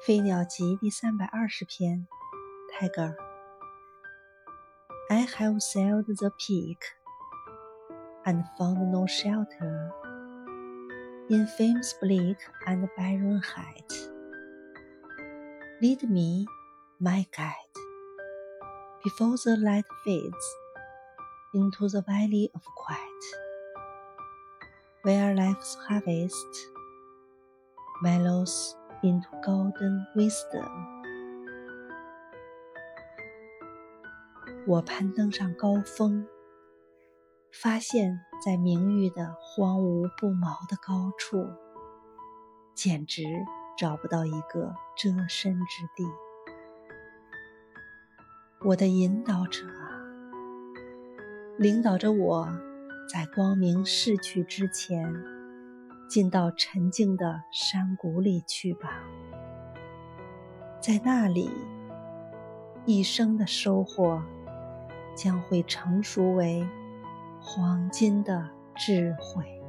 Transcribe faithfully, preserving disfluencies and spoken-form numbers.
飞鸟集第三百二十篇，泰戈尔。I have sailed the peak and found no shelter in fame's bleak and barren height. Lead me, my guide, before the light fades into the valley of quiet, where life's harvest mellows into golden wisdom. 我攀登上高峰，发现在名誉的荒芜不毛的高处，简直找不到一个遮身之地。我的引导者啊，领导着我在光明逝去之前，进到沉静的山谷里去吧。在那里，一生的收获将会成熟为黄金的智慧。